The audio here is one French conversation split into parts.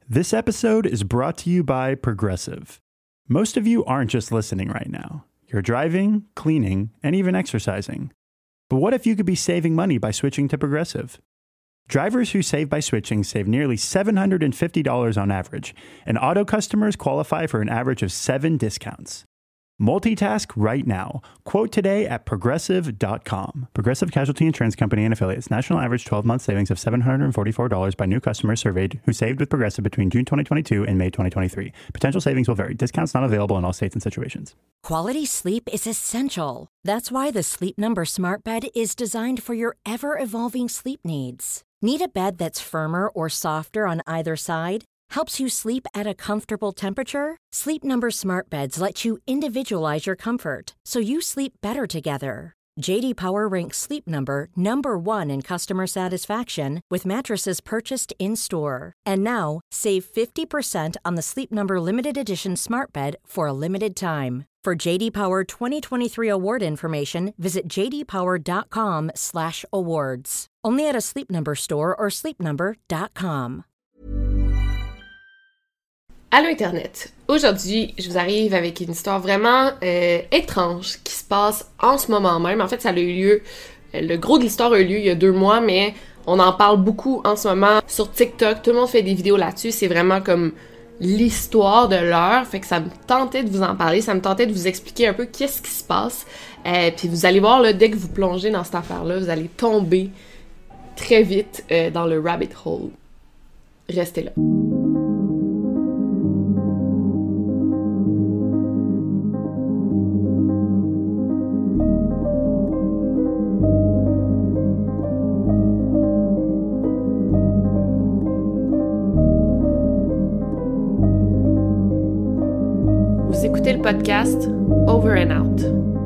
This episode is brought to you by Progressive. Most of you aren't just listening right now. You're driving, cleaning, and even exercising. But what if you could be saving money by switching to Progressive? Drivers who save by switching save nearly $750 on average, and auto customers qualify for an average of 7 discounts. Multitask right now. Quote today at Progressive.com. Progressive Casualty Insurance Company and Affiliates. National average 12-month savings of $744 by new customers surveyed who saved with Progressive between June 2022 and May 2023. Potential savings will vary. Discounts not available in all states and situations. Quality sleep is essential. That's why the Sleep Number Smart Bed is designed for your ever-evolving sleep needs. Need a bed that's firmer or softer on either side? Helps you sleep at a comfortable temperature? Sleep Number Smart Beds let you individualize your comfort, so you sleep better together. J.D. Power ranks Sleep Number number 1 in customer satisfaction with mattresses purchased in-store. And now, save 50% on the Sleep Number Limited Edition Smart Bed for a limited time. For J.D. Power 2023 award information, visit jdpower.com/awards. Only at a Sleep Number store or sleepnumber.com. Allô Internet! Aujourd'hui, je vous arrive avec une histoire vraiment étrange qui se passe en ce moment même. En fait, ça a eu lieu, le gros de l'histoire a eu lieu il y a 2 mois, mais on en parle beaucoup en ce moment sur TikTok. Tout le monde fait des vidéos là-dessus. C'est vraiment comme l'histoire de l'heure. Fait que ça me tentait de vous en parler, ça me tentait de vous expliquer un peu qu'est-ce qui se passe. Puis vous allez voir, là, dès que vous plongez dans cette affaire-là, vous allez tomber très vite dans le rabbit hole. Restez là. Vous écoutez le podcast Over and Out.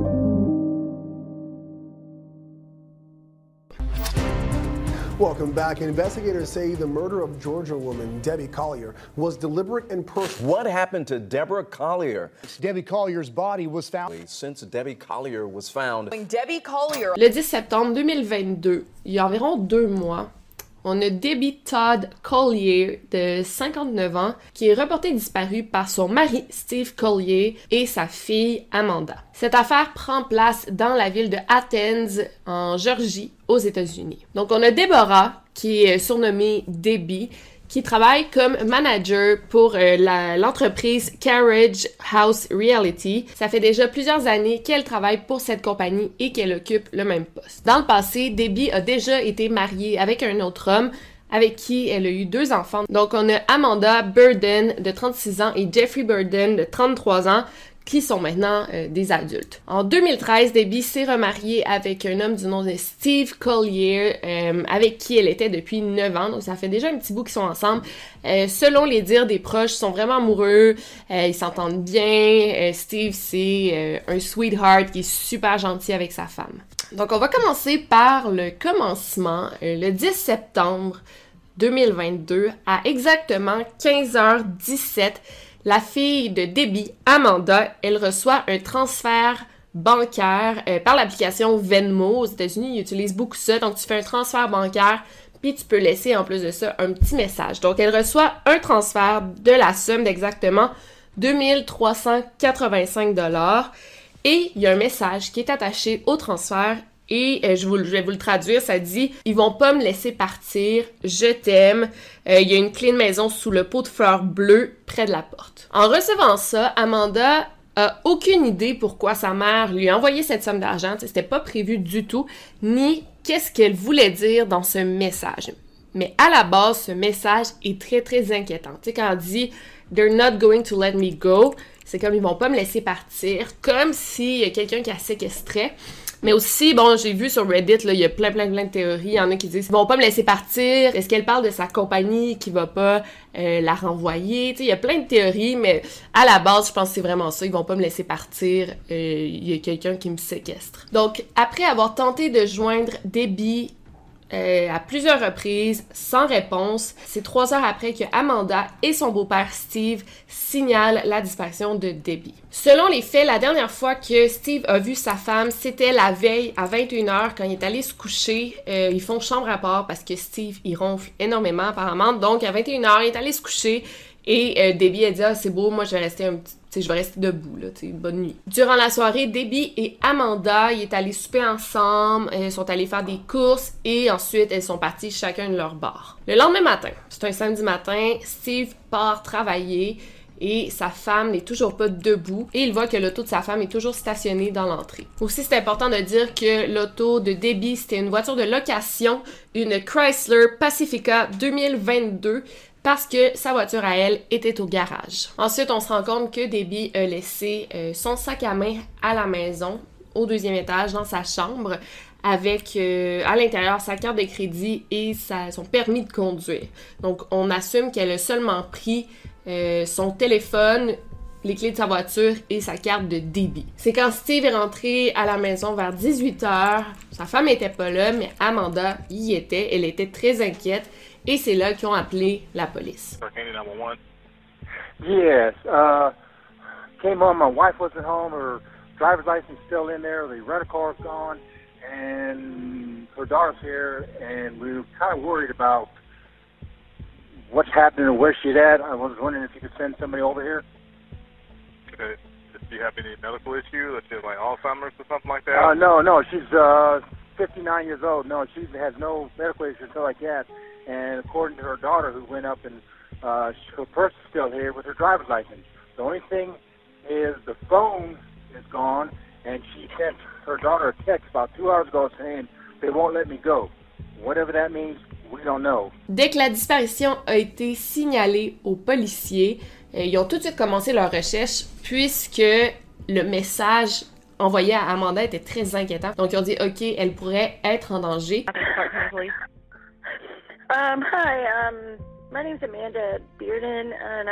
Welcome back. Investigators say the murder of Georgia woman Debbie Collier was deliberate and purposeful. What happened to Deborah Collier? Debbie Collier's body was found. Since Debbie Collier was found. Debbie Collier. Le 10 septembre 2022, il y a environ 2 mois, on a Debbie Todd Collier, de 59 ans, qui est reportée disparue par son mari Steve Collier et sa fille Amanda. Cette affaire prend place dans la ville de Athens, en Géorgie, aux États-Unis. Donc on a Deborah, qui est surnommée Debbie, qui travaille comme manager pour l'entreprise Carriage House Reality. Ça fait déjà plusieurs années qu'elle travaille pour cette compagnie et qu'elle occupe le même poste. Dans le passé, Debbie a déjà été mariée avec un autre homme avec qui elle a eu 2 enfants. Donc on a Amanda Burden de 36 ans et Jeffrey Burden de 33 ans qui sont maintenant des adultes. En 2013, Debbie s'est remariée avec un homme du nom de Steve Collier, avec qui elle était depuis 9 ans, donc ça fait déjà un petit bout qu'ils sont ensemble. Selon les dires des proches, ils sont vraiment amoureux, ils s'entendent bien. Steve, c'est un sweetheart qui est super gentil avec sa femme. Donc on va commencer par le commencement, le 10 septembre 2022, à exactement 15h17, la fille de Debbie, Amanda, elle reçoit un transfert bancaire par l'application Venmo. Aux États-Unis, ils utilisent beaucoup ça. Donc, tu fais un transfert bancaire, puis tu peux laisser, en plus de ça, un petit message. Donc, elle reçoit un transfert de la somme d'exactement 2385 $. Et il y a un message qui est attaché au transfert. Et je vais vous le traduire, ça dit « Ils vont pas me laisser partir, je t'aime. Il y a une clé de maison sous le pot de fleurs bleues près de la porte. » En recevant ça, Amanda a aucune idée pourquoi sa mère lui a envoyé cette somme d'argent. C'était pas prévu du tout, ni qu'est-ce qu'elle voulait dire dans ce message. Mais à la base, ce message est très, très inquiétant. Tu sais, quand elle dit « They're not going to let me go », c'est comme « Ils vont pas me laisser partir », comme s'il y a quelqu'un qui la séquestrait. Mais aussi, bon, j'ai vu sur Reddit, là, il y a plein de théories. Il y en a qui disent, ils vont pas me laisser partir. Est-ce qu'elle parle de sa compagnie qui va pas la renvoyer? Tu sais, il y a plein de théories, mais à la base, je pense que c'est vraiment ça. Ils vont pas me laisser partir. Il y a quelqu'un qui me séquestre. Donc, après avoir tenté de joindre Debbie à plusieurs reprises, sans réponse. C'est 3 heures après que Amanda et son beau-père Steve signalent la disparition de Debbie. Selon les faits, la dernière fois que Steve a vu sa femme, c'était la veille à 21h quand il est allé se coucher. Ils font chambre à part parce que Steve, il ronfle énormément apparemment. Donc à 21h, il est allé se coucher et Debbie a dit « Ah, c'est beau, moi je vais rester je vais rester debout, là, bonne nuit. » Durant la soirée, Debbie et Amanda, ils sont allés souper ensemble, elles sont allées faire des courses et ensuite, elles sont parties chacun de leur bar. Le lendemain matin, c'est un samedi matin, Steve part travailler et sa femme n'est toujours pas debout et il voit que l'auto de sa femme est toujours stationnée dans l'entrée. Aussi, c'est important de dire que l'auto de Debbie, c'était une voiture de location, une Chrysler Pacifica 2022, parce que sa voiture à elle était au garage. Ensuite, on se rend compte que Debbie a laissé son sac à main à la maison, au 2e étage, dans sa chambre, avec à l'intérieur sa carte de crédit et son permis de conduire. Donc, on assume qu'elle a seulement pris son téléphone, les clés de sa voiture et sa carte de débit. C'est quand Steve est rentré à la maison vers 18h, sa femme était pas là, mais Amanda y était, elle était très inquiète. Et c'est là qu'ils ont appelé la police. Yes. Came home, my wife wasn't home, her driver's license still in there, the rental car's gone, and her daughter's here, and we were kind of worried about what's happening and where she's at. I was wondering if you could send somebody over here. Okay. Do you have any medical issue, let's say like Alzheimer's or something like that? No, she's 59 years old. No, she has no medical issue, something like that. And according to her daughter, who went up and her purse is still here with her driver's license. The only thing is the phone is gone, and she sent her daughter a text about 2 hours ago saying they won't let me go. Whatever that means, we don't know. Dès que la disparition a été signalée aux policiers, ils ont tout de suite commencé leur recherche puisque le message envoyé à Amanda était très inquiétant. Donc ils ont dit OK, elle pourrait être en danger. Hi, my name's Amanda Bearden, and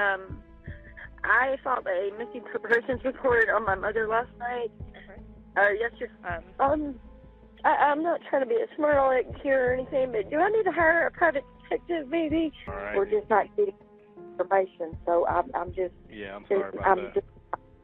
I filed a missing persons report on my mother last night. Yesterday. I'm not trying to be a smart aleck here or anything, but do I need to hire a private detective, maybe? Right. We're just not getting information, so I'm just. Yeah, I'm sorry about that.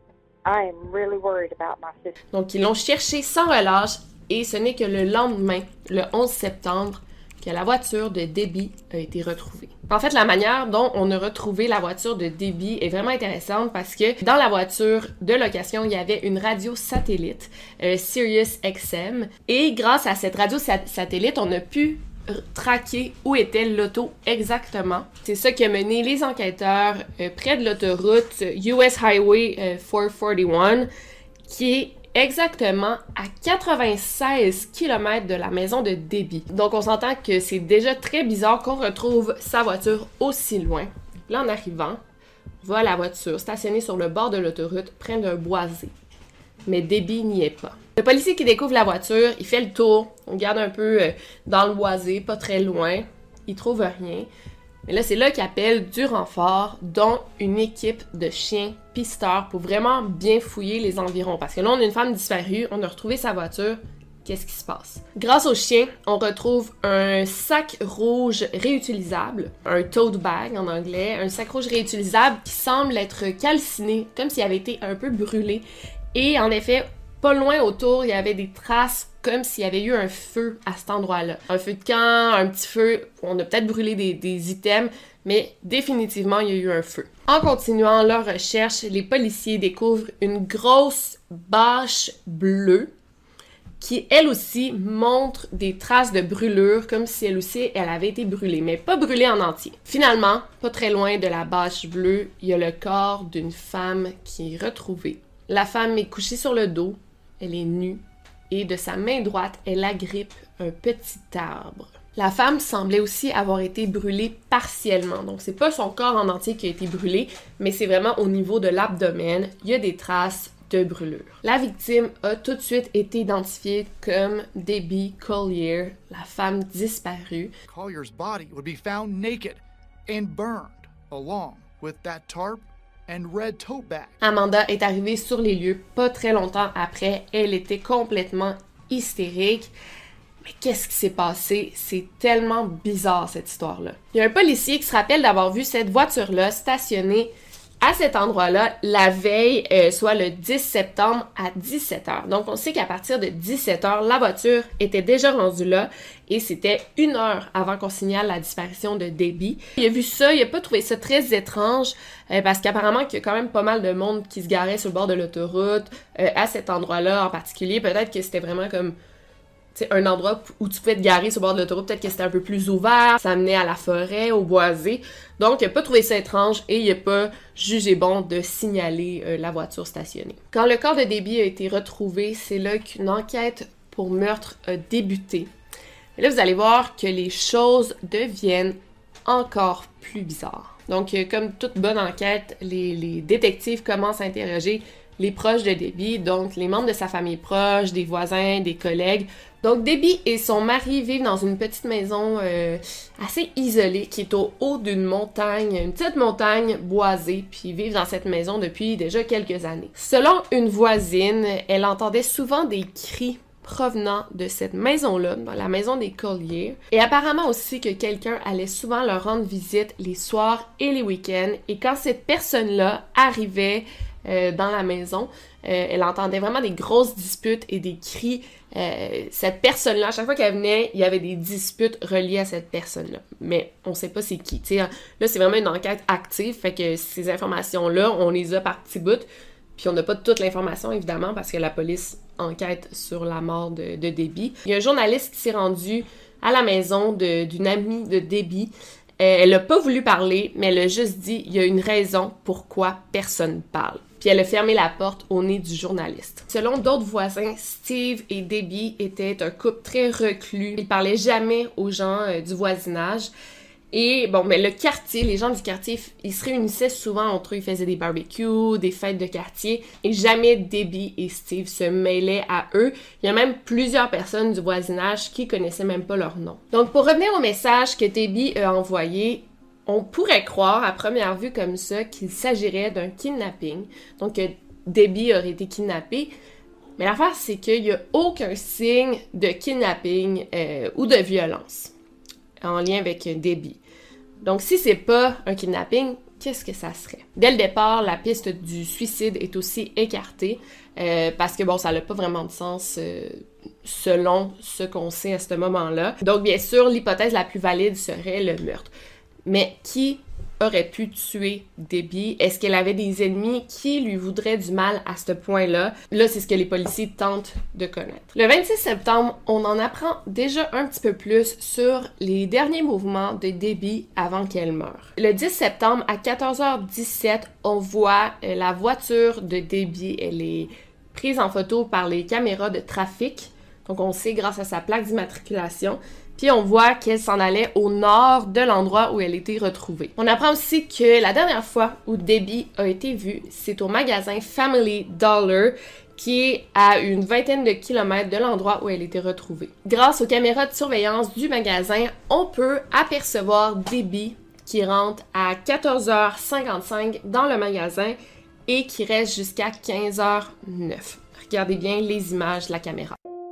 I am really worried about my sister. Donc ils l'ont cherché sans relâche et ce n'est que le lendemain, le 11 septembre, que la voiture de Debbie a été retrouvée. En fait, la manière dont on a retrouvé la voiture de Debbie est vraiment intéressante parce que dans la voiture de location, il y avait une radio satellite, Sirius XM, et grâce à cette radio satellite, on a pu traquer où était l'auto exactement. C'est ça qui a mené les enquêteurs près de l'autoroute US Highway 441, qui est exactement à 96 km de la maison de Debbie. Donc on s'entend que c'est déjà très bizarre qu'on retrouve sa voiture aussi loin. Là, en arrivant, on voit la voiture stationnée sur le bord de l'autoroute près d'un boisé. Mais Debbie n'y est pas. Le policier qui découvre la voiture, il fait le tour, on regarde un peu dans le boisé, pas très loin, il trouve rien. Mais là, c'est là qu'il appelle du renfort, dont une équipe de chiens pisteurs pour vraiment bien fouiller les environs. Parce que là, on a une femme disparue, on a retrouvé sa voiture. Qu'est-ce qui se passe? Grâce aux chiens, on retrouve un sac rouge réutilisable, un tote bag en anglais, un sac rouge réutilisable qui semble être calciné, comme s'il avait été un peu brûlé. Et en effet, pas loin autour, il y avait des traces comme s'il y avait eu un feu à cet endroit-là. Un feu de camp, un petit feu, on a peut-être brûlé des items, mais définitivement, il y a eu un feu. En continuant leur recherche, les policiers découvrent une grosse bâche bleue qui, elle aussi, montre des traces de brûlure, comme si elle aussi, elle avait été brûlée, mais pas brûlée en entier. Finalement, pas très loin de la bâche bleue, il y a le corps d'une femme qui est retrouvée. La femme est couchée sur le dos, elle est nue, et de sa main droite, elle agrippe un petit arbre. La femme semblait aussi avoir été brûlée partiellement, donc c'est pas son corps en entier qui a été brûlé, mais c'est vraiment au niveau de l'abdomen, il y a des traces de brûlure. La victime a tout de suite été identifiée comme Debbie Collier, la femme disparue. Collier's body would be found naked and burned, along with that tarp and red tote bag. Amanda est arrivée sur les lieux pas très longtemps après. Elle était complètement hystérique. Mais qu'est-ce qui s'est passé? C'est tellement bizarre, cette histoire-là. Il y a un policier qui se rappelle d'avoir vu cette voiture-là stationnée à cet endroit-là la veille, soit le 10 septembre à 17h. Donc, on sait qu'à partir de 17h, la voiture était déjà rendue là et c'était 1 heure avant qu'on signale la disparition de Debbie. Il a vu ça, il a pas trouvé ça très étrange parce qu'apparemment qu'il y a quand même pas mal de monde qui se garait sur le bord de l'autoroute à cet endroit-là en particulier. Peut-être que c'était vraiment comme un endroit où tu pouvais te garer sur le bord de l'autoroute, peut-être que c'était un peu plus ouvert, ça menait à la forêt, au boisé. Donc, il n'a pas trouvé ça étrange et il n'a pas jugé bon de signaler la voiture stationnée. Quand le corps de Debbie a été retrouvé, c'est là qu'une enquête pour meurtre a débuté. Et là, vous allez voir que les choses deviennent encore plus bizarres. Donc, comme toute bonne enquête, les détectives commencent à interroger les proches de Debbie, donc les membres de sa famille proche, des voisins, des collègues. Donc Debbie et son mari vivent dans une petite maison assez isolée qui est au haut d'une montagne, une petite montagne boisée, puis ils vivent dans cette maison depuis déjà quelques années. Selon une voisine, elle entendait souvent des cris provenant de cette maison-là, dans la maison des Collier, et apparemment aussi que quelqu'un allait souvent leur rendre visite les soirs et les week-ends, et quand cette personne-là arrivait dans la maison, elle entendait vraiment des grosses disputes et des cris. Cette personne-là, à chaque fois qu'elle venait, il y avait des disputes reliées à cette personne-là. Mais on sait pas c'est qui. T'sais, là, c'est vraiment une enquête active, fait que ces informations-là, on les a par petits bouts, puis on n'a pas toute l'information, évidemment, parce que la police enquête sur la mort de Debbie. Il y a un journaliste qui s'est rendu à la maison d'une amie de Debbie. Elle n'a pas voulu parler, mais elle a juste dit il y a une raison pourquoi personne parle. Puis elle a fermé la porte au nez du journaliste. Selon d'autres voisins, Steve et Debbie étaient un couple très reclus. Ils parlaient jamais aux gens du voisinage. Et bon, mais le quartier, les gens du quartier, ils se réunissaient souvent entre eux. Ils faisaient des barbecues, des fêtes de quartier. Et jamais Debbie et Steve se mêlaient à eux. Il y a même plusieurs personnes du voisinage qui connaissaient même pas leur nom. Donc pour revenir au message que Debbie a envoyé, on pourrait croire à première vue comme ça qu'il s'agirait d'un kidnapping, donc que Debbie aurait été kidnappée, mais l'affaire c'est qu'il n'y a aucun signe de kidnapping ou de violence en lien avec Debbie. Donc si c'est pas un kidnapping, qu'est-ce que ça serait? Dès le départ, la piste du suicide est aussi écartée parce que bon, ça n'a pas vraiment de sens selon ce qu'on sait à ce moment-là. Donc bien sûr, l'hypothèse la plus valide serait le meurtre. Mais qui aurait pu tuer Debbie? Est-ce qu'elle avait des ennemis qui lui voudraient du mal à ce point-là? Là, c'est ce que les policiers tentent de connaître. Le 26 septembre, on en apprend déjà un petit peu plus sur les derniers mouvements de Debbie avant qu'elle meure. Le 10 septembre, à 14h17, on voit la voiture de Debbie. Elle est prise en photo par les caméras de trafic. Donc, on sait grâce à sa plaque d'immatriculation. Puis on voit qu'elle s'en allait au nord de l'endroit où elle était retrouvée. On apprend aussi que la dernière fois où Debbie a été vue, c'est au magasin Family Dollar, qui est à une vingtaine de kilomètres de l'endroit où elle était retrouvée. Grâce aux caméras de surveillance du magasin, on peut apercevoir Debbie qui rentre à 14h55 dans le magasin et qui reste jusqu'à 15h09. Regardez bien les images de la caméra.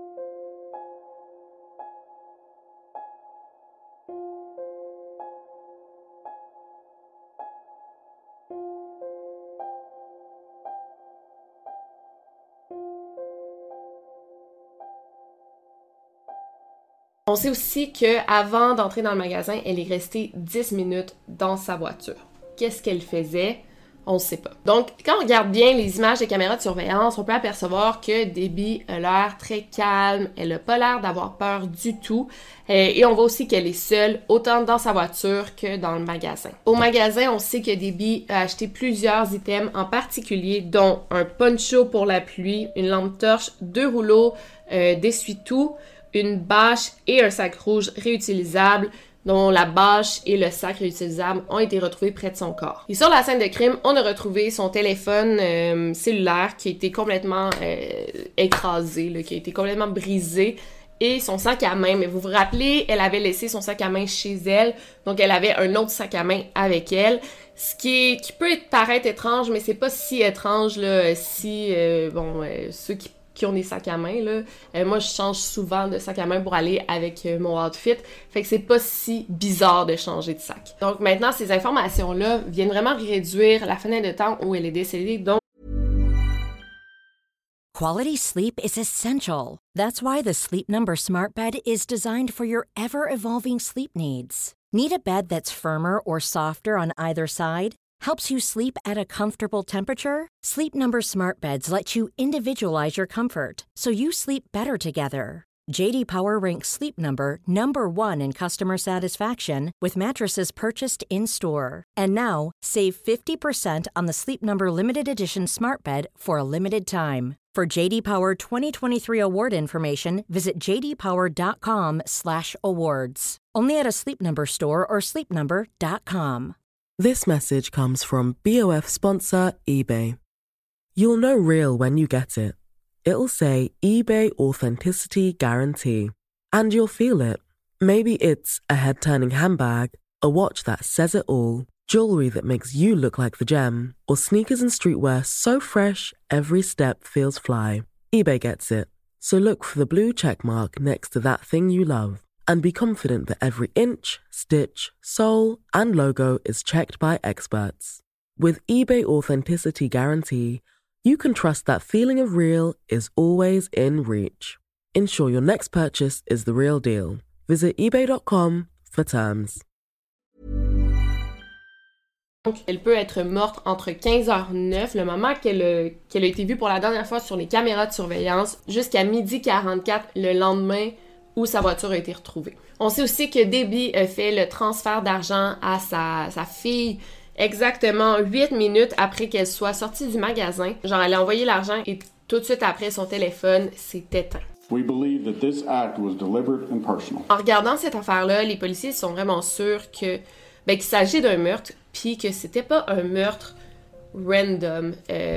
On sait aussi qu'avant d'entrer dans le magasin, elle est restée 10 minutes dans sa voiture. Qu'est-ce qu'elle faisait? On ne sait pas. Donc, quand on regarde bien les images des caméras de surveillance, on peut apercevoir que Debbie a l'air très calme, elle n'a pas l'air d'avoir peur du tout, et on voit aussi qu'elle est seule, autant dans sa voiture que dans le magasin. Au magasin, on sait que Debbie a acheté plusieurs items en particulier, dont un poncho pour la pluie, une lampe torche, 2 rouleaux d'essuie-tout, une bâche et un sac rouge réutilisable, dont la bâche et le sac réutilisable ont été retrouvés près de son corps. Et sur la scène de crime, on a retrouvé son téléphone cellulaire qui a été complètement écrasé, là, qui a été complètement brisé, et son sac à main. Mais vous vous rappelez, elle avait laissé son sac à main chez elle, donc elle avait un autre sac à main avec elle, ce qui peut paraître étrange, mais c'est pas si étrange là, si ceux qui qui ont des sacs à main, là. Moi, je change souvent de sac à main pour aller avec mon outfit. Fait que c'est pas si bizarre de changer de sac. Donc maintenant, ces informations-là viennent vraiment réduire la fenêtre de temps où elle est décédée. Donc, Quality sleep is essential. That's why the Sleep Number Smart Bed is designed for your ever-evolving sleep needs. Need a bed that's firmer or softer on either side? Helps you sleep at a comfortable temperature? Sleep Number Smart Beds let you individualize your comfort, so you sleep better together. J.D. Power ranks Sleep Number number 1 in customer satisfaction with mattresses purchased in-store. And now, save 50% on the Sleep Number Limited Edition Smart Bed for a limited time. For J.D. Power 2023 award information, visit jdpower.com/awards. Only at a Sleep Number store or sleepnumber.com. This message comes from BOF sponsor eBay. You'll know real when you get it. It'll say eBay Authenticity Guarantee. And you'll feel it. Maybe it's a head-turning handbag, a watch that says it all, jewelry that makes you look like the gem, or sneakers and streetwear so fresh every step feels fly. eBay gets it. So look for the blue check mark next to that thing you love. And be confident that every inch, stitch, sole, and logo is checked by experts. With eBay Authenticity Guarantee, you can trust that feeling of real is always in reach. Ensure your next purchase is the real deal. Visit ebay.com for terms. Donc, elle peut être morte entre 15h09, le moment qu'elle a été vue pour la dernière fois sur les caméras de surveillance, jusqu'à 12h44 le lendemain où sa voiture a été retrouvée. On sait aussi que Debbie a fait le transfert d'argent à sa fille exactement 8 minutes après qu'elle soit sortie du magasin. Genre, elle a envoyé l'argent et tout de suite après, son téléphone s'est éteint. We believe that this act was deliberate and personal. En regardant cette affaire-là, les policiers sont vraiment sûrs qu'il s'agit d'un meurtre, puis que c'était pas un meurtre random.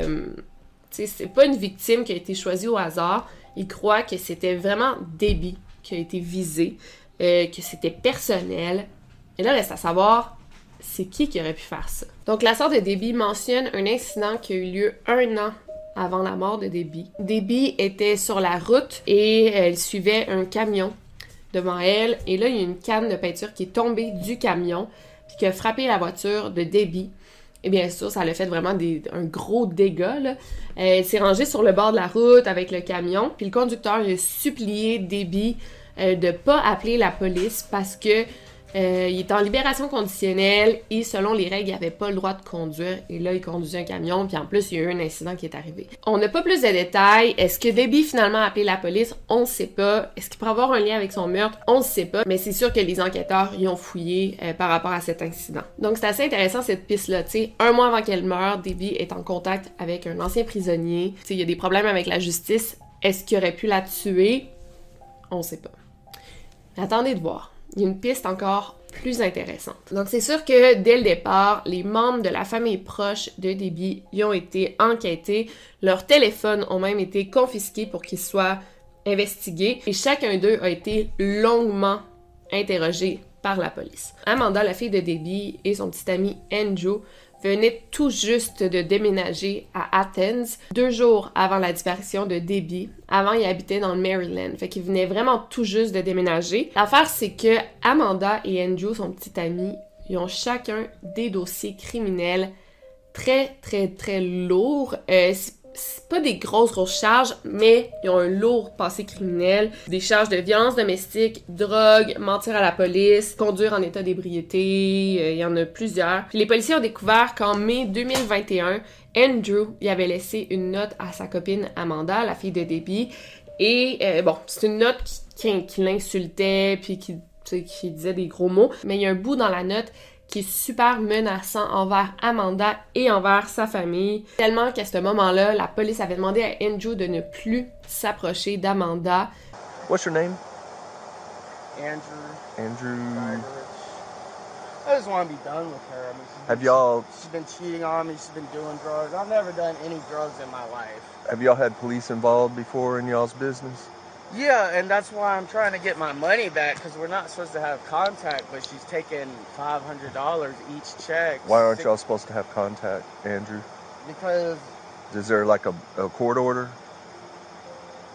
C'est pas une victime qui a été choisie au hasard. Ils croient que c'était vraiment Debbie qui a été visée, que c'était personnel. Et là, reste à savoir, c'est qui aurait pu faire ça. Donc, la sœur de Debbie mentionne un incident qui a eu lieu 1 an avant la mort de Debbie. Debbie était sur la route et elle suivait un camion devant elle. Et là, il y a une canne de peinture qui est tombée du camion puis qui a frappé la voiture de Debbie. Et bien sûr, ça l'a fait vraiment un gros dégât, là. Elle s'est rangée sur le bord de la route avec le camion. Puis le conducteur a supplié Debbie de pas appeler la police parce que il était en libération conditionnelle et selon les règles, il n'avait pas le droit de conduire. Et là, il conduisait un camion, puis en plus, il y a eu un incident qui est arrivé. On n'a pas plus de détails. Est-ce que Debbie finalement a appelé la police? On ne sait pas. Est-ce qu'il pourrait avoir un lien avec son meurtre? On ne sait pas. Mais c'est sûr que les enquêteurs y ont fouillé par rapport à cet incident. Donc, c'est assez intéressant cette piste-là. Tu sais, 1 mois avant qu'elle meure, Debbie est en contact avec un ancien prisonnier. Tu sais, il y a des problèmes avec la justice. Est-ce qu'il aurait pu la tuer? On ne sait pas. Mais attendez de voir. Il y a une piste encore plus intéressante. Donc, c'est sûr que dès le départ, les membres de la famille proche de Debbie y ont été enquêtés. Leurs téléphones ont même été confisqués pour qu'ils soient investigués. Et chacun d'eux a été longuement interrogé par la police. Amanda, la fille de Debbie, et son petit ami Andrew venaient tout juste de déménager à Athens 2 jours avant la disparition de Debbie. Avant, ils habitaient dans le Maryland. Fait qu'ils venaient vraiment tout juste de déménager. L'affaire, c'est que Amanda et Andrew, son petit ami, ils ont chacun des dossiers criminels très, très, très lourds. C'est pas des grosses charges, mais ils ont un lourd passé criminel. Des charges de violence domestique, drogue, mentir à la police, conduire en état d'ébriété, il y en a plusieurs. Puis les policiers ont découvert qu'en mai 2021, Andrew y avait laissé une note à sa copine Amanda, la fille de Debbie. Et c'est une note qui l'insultait, puis qui disait des gros mots. Mais il y a un bout dans la note qui est super menaçant envers Amanda et envers sa famille. Tellement qu'à ce moment-là, la police avait demandé à Andrew de ne plus s'approcher d'Amanda. What's your name? Andrew. I just want to be done with her. I mean, she's been cheating on me. She's been doing drugs. I've never done any drugs in my life. Have y'all had police involved before in y'all's business? Yeah, and that's why I'm trying to get my money back, because we're not supposed to have contact, but she's taking $500 each check. Why aren't y'all supposed to have contact, Andrew? Because... Is there like a court order?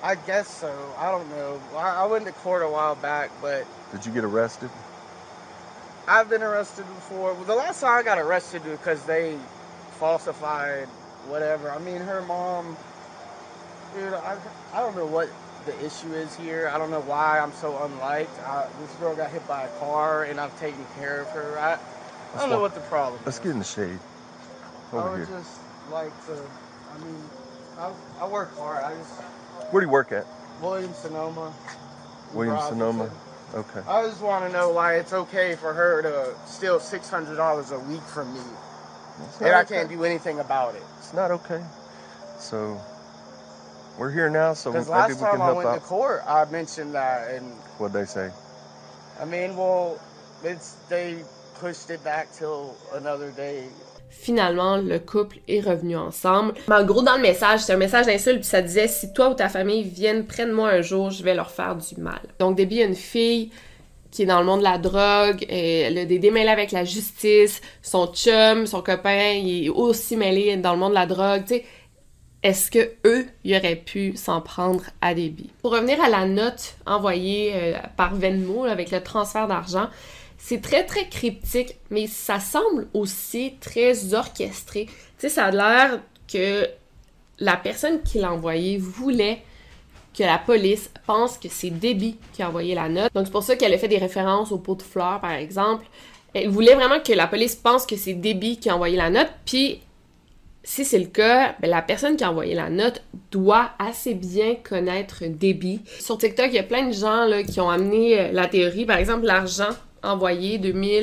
I guess so. I don't know. I went to court a while back, but... Did you get arrested? I've been arrested before. The last time I got arrested because they falsified whatever. I mean, her mom... Dude, I don't know what the issue is here. I don't know why I'm so unliked. This girl got hit by a car, and I've taken care of her. I don't know what the problem is. Let's get in the shade. Over I would here. just like to... I mean, I work hard. Where do you work at? Williams-Sonoma. Williams-Sonoma. Okay. I just want to know why it's okay for her to steal $600 a week from me, and I can't do anything about it. It's not okay. So we're here now, so maybe we last can time I help went out. to court, I mentioned that, and What'd they say? I mean, well, they pushed it back till another day. Finalement, le couple est revenu ensemble. Mais en gros, dans le message, c'est un message d'insulte, puis ça disait « Si toi ou ta famille viennent près de moi un jour, je vais leur faire du mal. » Donc, Debbie a une fille qui est dans le monde de la drogue, elle a des démêlés avec la justice, son chum, son copain, il est aussi mêlé dans le monde de la drogue, tu sais. Est-ce que eux, ils auraient pu s'en prendre à Debbie? Pour revenir à la note envoyée par Venmo, avec le transfert d'argent, c'est très, très cryptique, mais ça semble aussi très orchestré. Tu sais, ça a l'air que la personne qui l'a envoyé voulait que la police pense que c'est Debbie qui a envoyé la note. Donc, c'est pour ça qu'elle a fait des références au pot de fleurs, par exemple. Elle voulait vraiment que la police pense que c'est Debbie qui a envoyé la note, puis si c'est le cas, ben la personne qui a envoyé la note doit assez bien connaître Debbie. Sur TikTok, il y a plein de gens là, qui ont amené la théorie. Par exemple, l'argent envoyé,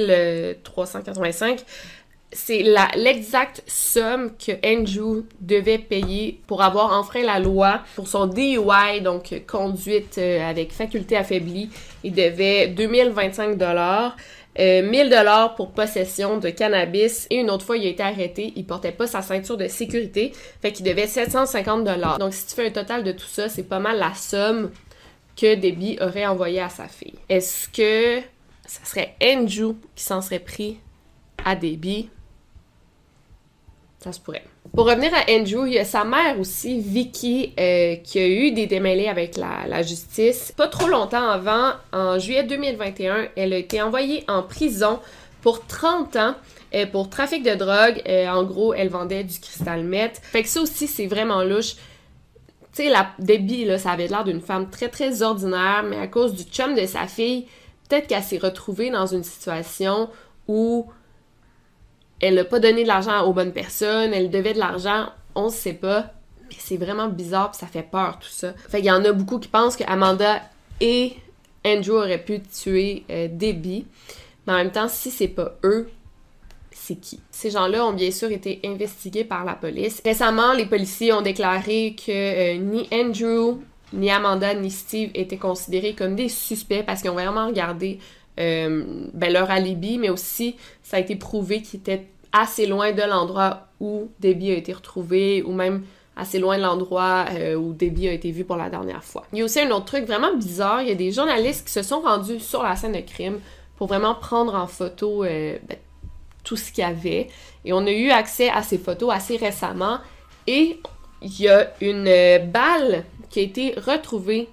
2385, c'est l'exacte somme que Andrew devait payer pour avoir enfreint la loi pour son DUI, donc conduite avec faculté affaiblie. Il devait 2025 $, 1000 $ pour possession de cannabis, et une autre fois, il a été arrêté, il portait pas sa ceinture de sécurité, fait qu'il devait 750 $. Donc, si tu fais un total de tout ça, c'est pas mal la somme que Debbie aurait envoyée à sa fille. Est-ce que ça serait Andrew qui s'en serait pris à Debbie? Ça se pourrait. Pour revenir à Andrew, il y a sa mère aussi, Vicky, qui a eu des démêlés avec la justice. Pas trop longtemps avant, en juillet 2021, elle a été envoyée en prison pour 30 ans pour trafic de drogue. En gros, elle vendait du cristal meth. Fait que ça aussi, c'est vraiment louche. Tu sais, Debbie, là, ça avait l'air d'une femme très, très ordinaire, mais à cause du chum de sa fille, peut-être qu'elle s'est retrouvée dans une situation où elle n'a pas donné de l'argent aux bonnes personnes, elle devait de l'argent, on ne sait pas, mais c'est vraiment bizarre pis ça fait peur tout ça. Fait qu'il y en a beaucoup qui pensent que Amanda et Andrew auraient pu tuer Debbie, mais en même temps, si c'est pas eux, c'est qui? Ces gens-là ont bien sûr été investigués par la police. Récemment, les policiers ont déclaré que ni Andrew, ni Amanda, ni Steve étaient considérés comme des suspects parce qu'ils ont vraiment regardé leur alibi, mais aussi ça a été prouvé qu'ils étaient assez loin de l'endroit où Debbie a été retrouvée, ou même assez loin de l'endroit où Debbie a été vue pour la dernière fois. Il y a aussi un autre truc vraiment bizarre, il y a des journalistes qui se sont rendus sur la scène de crime pour vraiment prendre en photo tout ce qu'il y avait, et on a eu accès à ces photos assez récemment, et il y a une balle qui a été retrouvée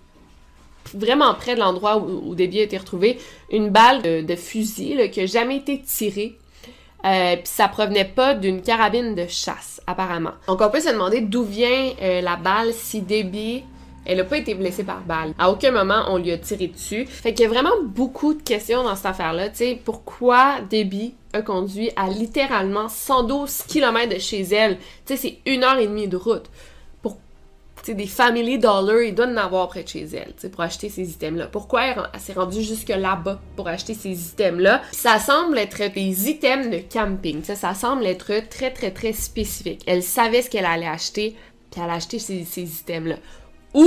vraiment près de l'endroit où Debbie a été retrouvée, une balle de fusil là, qui n'a jamais été tirée. Puis ça provenait pas d'une carabine de chasse, apparemment. Donc on peut se demander d'où vient la balle si Debbie, elle a pas été blessée par balle. À aucun moment on lui a tiré dessus. Fait qu'il y a vraiment beaucoup de questions dans cette affaire-là. Tu sais, pourquoi Debbie a conduit à littéralement 112 km de chez elle? Tu sais, c'est 1h30 de route. T'sais, des Family Dollar, ils doivent en avoir près de chez elle, pour acheter ces items-là. Pourquoi elle s'est rendue jusque là-bas pour acheter ces items-là? Puis ça semble être des items de camping, ça semble être très, très, très spécifique. Elle savait ce qu'elle allait acheter, puis elle a acheté ces items-là. Ou,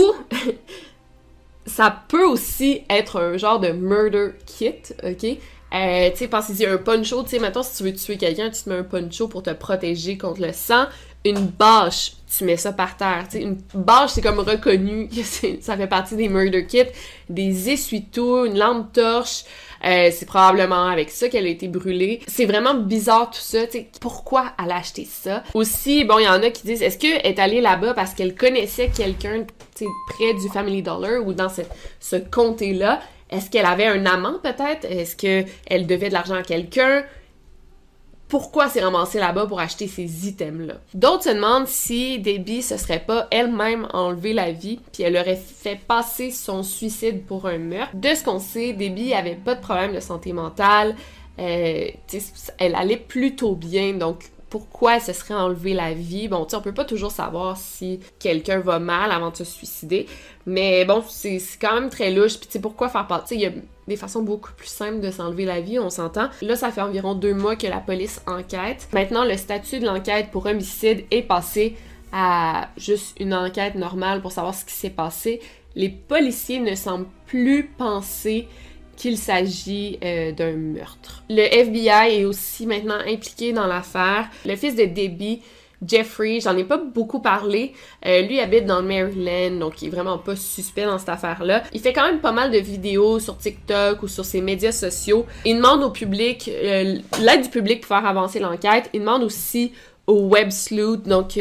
ça peut aussi être un genre de murder kit, ok? Tu sais, pensez-y, un poncho, tu sais, mettons, si tu veux tuer quelqu'un, tu te mets un poncho pour te protéger contre le sang. Une bâche, tu mets ça par terre. T'sais, une bâche, c'est comme reconnu, ça fait partie des murder kits. Des essuie-tout, une lampe torche, C'est probablement avec ça qu'elle a été brûlée. C'est vraiment bizarre tout ça, tu sais, pourquoi elle a acheté ça? Aussi, bon, il y en a qui disent, est-ce qu'elle est allée là-bas parce qu'elle connaissait quelqu'un, tu sais, près du Family Dollar ou dans ce comté-là? Est-ce qu'elle avait un amant peut-être? Est-ce qu'elle devait de l'argent à quelqu'un? Pourquoi s'est ramassée là-bas pour acheter ces items-là? D'autres se demandent si Debbie se serait pas elle-même enlevé la vie, puis elle aurait fait passer son suicide pour un meurtre. De ce qu'on sait, Debbie avait pas de problème de santé mentale, elle allait plutôt bien, donc pourquoi elle se serait enlevé la vie? Bon, tu sais, on peut pas toujours savoir si quelqu'un va mal avant de se suicider, mais bon, c'est quand même très louche, puis tu sais, pourquoi faire part? Tu sais, il y a des façons beaucoup plus simples de s'enlever la vie, on s'entend. Là, ça fait environ 2 mois que la police enquête. Maintenant, le statut de l'enquête pour homicide est passé à juste une enquête normale pour savoir ce qui s'est passé. Les policiers ne semblent plus penser qu'il s'agit d'un meurtre. Le FBI est aussi maintenant impliqué dans l'affaire. Le fils de Debbie, Jeffrey, j'en ai pas beaucoup parlé, lui habite dans le Maryland, donc il est vraiment pas suspect dans cette affaire-là. Il fait quand même pas mal de vidéos sur TikTok ou sur ses médias sociaux. Il demande au public, l'aide du public pour faire avancer l'enquête. Il demande aussi aux web sleuths, donc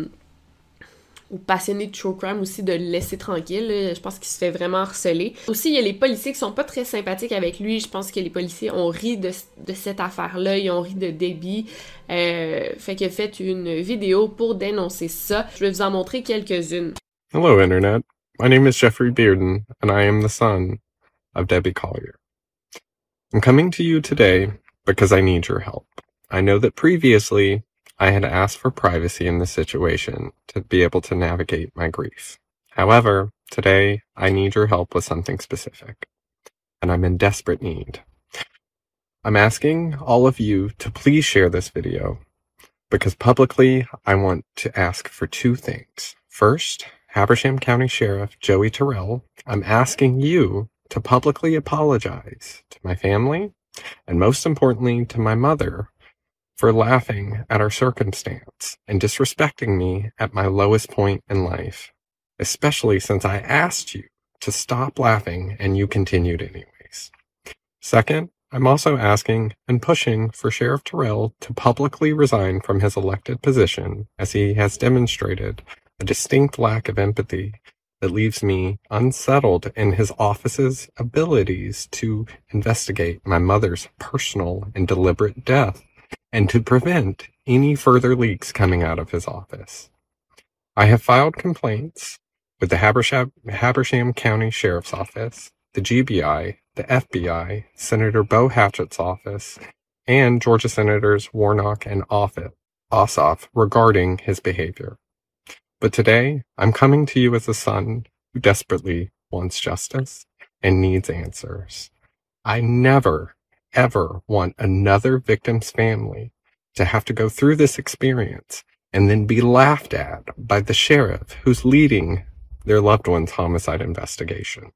aux passionnés de true crime aussi, de le laisser tranquille. Je pense qu'il se fait vraiment harceler. Aussi, il y a les policiers qui sont pas très sympathiques avec lui. Je pense que les policiers ont ri de cette affaire-là. Ils ont ri de Debbie. Fait qu'il a fait une vidéo pour dénoncer ça. Je vais vous en montrer quelques-unes. Hello, Internet. My name is Jeffrey Bearden, and I am the son of Debbie Collier. I'm coming to you today because I need your help. I know that previously I had asked for privacy in this situation to be able to navigate my grief. However, today I need your help with something specific, and I'm in desperate need. I'm asking all of you to please share this video because publicly I want to ask for 2 things. First, Habersham County Sheriff Joey Terrell, I'm asking you to publicly apologize to my family and most importantly to my mother for laughing at our circumstance and disrespecting me at my lowest point in life, especially since I asked you to stop laughing and you continued anyways. Second, I'm also asking and pushing for Sheriff Terrell to publicly resign from his elected position as he has demonstrated a distinct lack of empathy that leaves me unsettled in his office's abilities to investigate my mother's personal and deliberate death and to prevent any further leaks coming out of his office. I have filed complaints with the Habersham County Sheriff's Office, the GBI, the FBI, Senator Bo Hatchett's office, and Georgia Senators Warnock and Ossoff regarding his behavior. But today, I'm coming to you as a son who desperately wants justice and needs answers. I never, ever want another victim's family to have to go through this experience and then be laughed at by the sheriff who's leading their loved one's homicide investigation.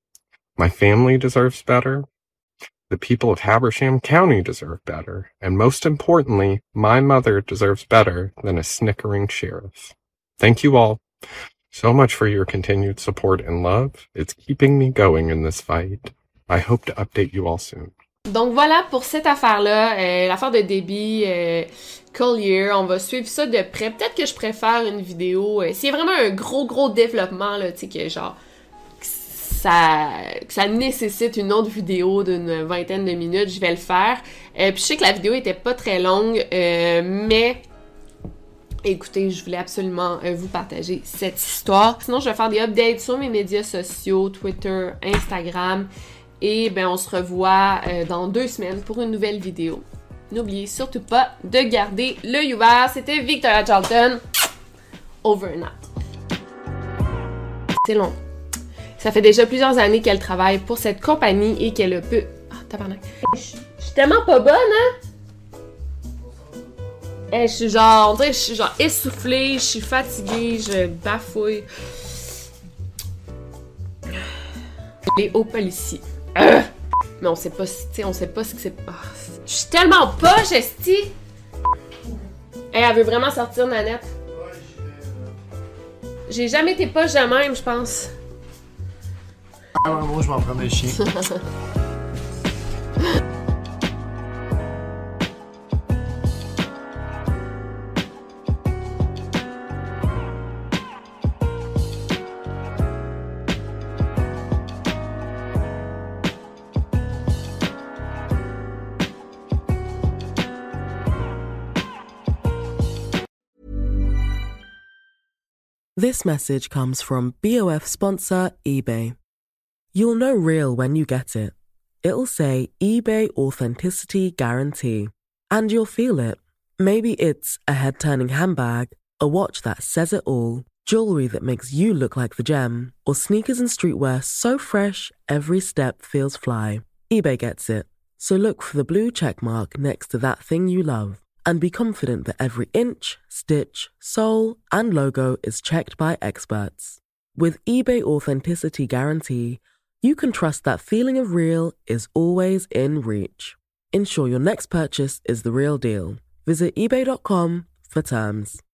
My family deserves better. The people of Habersham County deserve better. And most importantly, my mother deserves better than a snickering sheriff. Thank you all so much for your continued support and love. It's keeping me going in this fight. I hope to update you all soon. Donc voilà pour cette affaire-là, l'affaire de Debbie Collier. On va suivre ça de près. Peut-être que je préfère une vidéo. S'il y a vraiment un gros développement, là, tu sais, que genre que ça nécessite une autre vidéo d'une 20aine de minutes, je vais le faire. Puis je sais que la vidéo était pas très longue, mais écoutez, je voulais absolument vous partager cette histoire. Sinon, je vais faire des updates sur mes médias sociaux, Twitter, Instagram. Et ben on se revoit dans 2 semaines pour une nouvelle vidéo. N'oubliez surtout pas de garder l'œil ouvert. C'était Victoria Charlton. Over and out. C'est long. Ça fait déjà plusieurs années qu'elle travaille pour cette compagnie et qu'elle a peu... Ah, tabarnak. Je suis tellement pas bonne, hein? Je suis genre... On dirait que je suis genre essoufflée, je suis fatiguée, je bafouille. Les hauts policiers. Mais on sait pas, tu sais, on sait pas ce que c'est. Oh, je suis tellement poche, esti! Hey, elle veut vraiment sortir, Nanette. J'ai jamais été poche de même, je pense. Ah ouais, moi je m'en prends des chiens. This message comes from BOF sponsor eBay. You'll know real when you get it. It'll say eBay Authenticity Guarantee. And you'll feel it. Maybe it's a head-turning handbag, a watch that says it all, jewelry that makes you look like the gem, or sneakers and streetwear so fresh every step feels fly. eBay gets it. So look for the blue check mark next to that thing you love and be confident that every inch, stitch, sole, and logo is checked by experts. With eBay Authenticity Guarantee, you can trust that feeling of real is always in reach. Ensure your next purchase is the real deal. Visit eBay.com for terms.